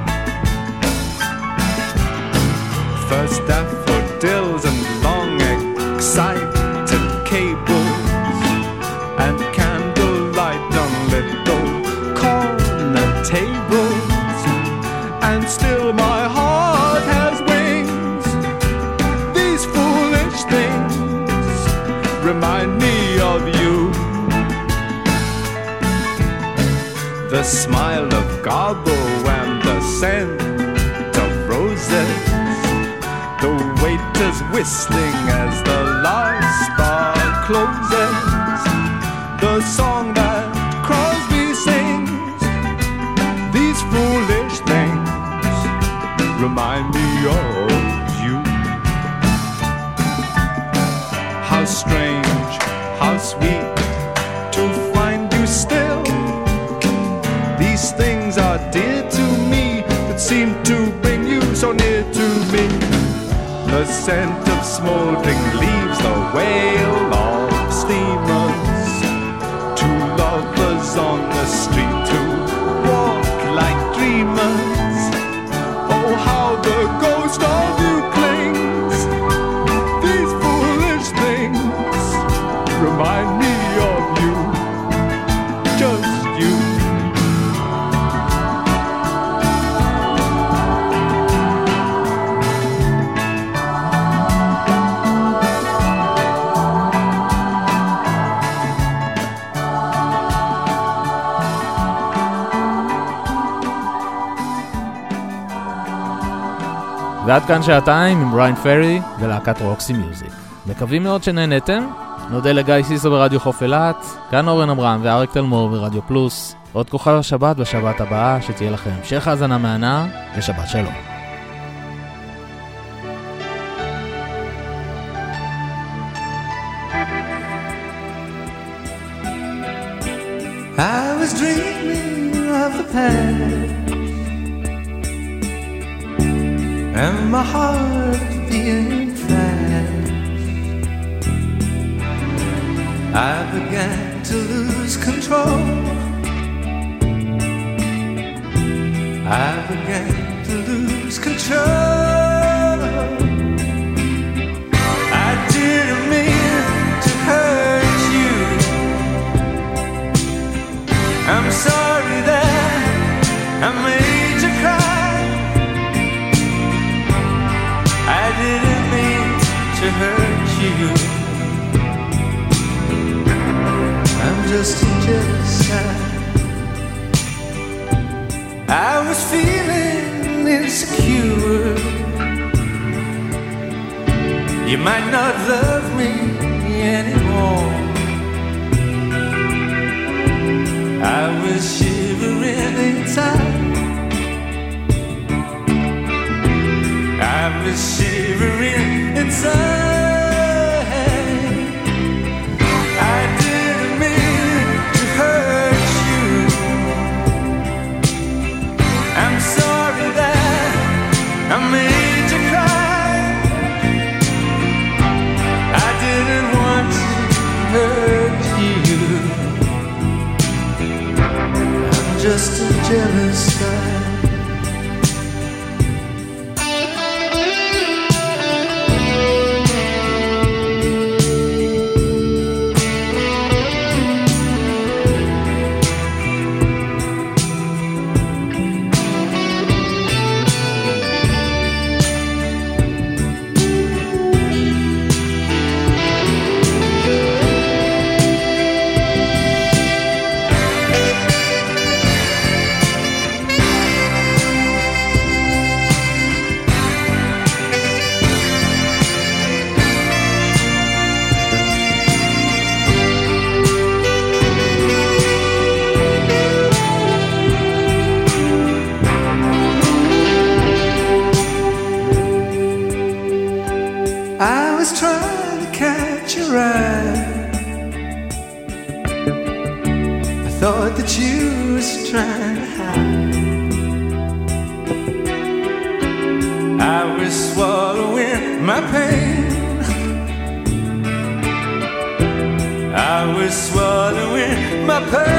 First daffodils and long excited cables, and candlelight on little corner tables, and still my heart has wings. These foolish things remind me of you. The smile of Garbo and the scent of roses, the way to is whistling as the last bar closes. The song that Crosby sings. These foolish things remind me of you. How strange, how sweet to find you still. These things are dear to me, that seem to bring you so near to me. The scent of smoldering leaves, the wail of steamers. Two lovers on the street who walk like dreamers. Oh, how the ghost of you clings. These foolish things remind me of you. Just you. ועד כאן שעתיים עם בריין פרי ולהקת רוקסי מיוזיק. מקווים מאוד שנהנתם. נודה לגיא סיסו ברדיו חוף אילת, כאן אורן אברהם ואריק תלמור ברדיו פלוס. עוד כוכב השבת בשבת הבאה, שתהיה לכם המשך האזנה מהנה ושבת שלום. I was dreaming of the past, and my heart being fast. I began to lose control. I began to lose control. I didn't mean to hurt you. I'm sorry that I made you cry. I didn't mean to hurt you. I'm just a jealous guy. I was feeling insecure. You might not love me anymore. I was shivering inside. I was shivering inside. I didn't mean to hurt you. I'm sorry that I made you cry. I didn't want to hurt you. I'm just a jealous guy. Thought that you was trying to hide. I was swallowing my pain. I was swallowing my pain.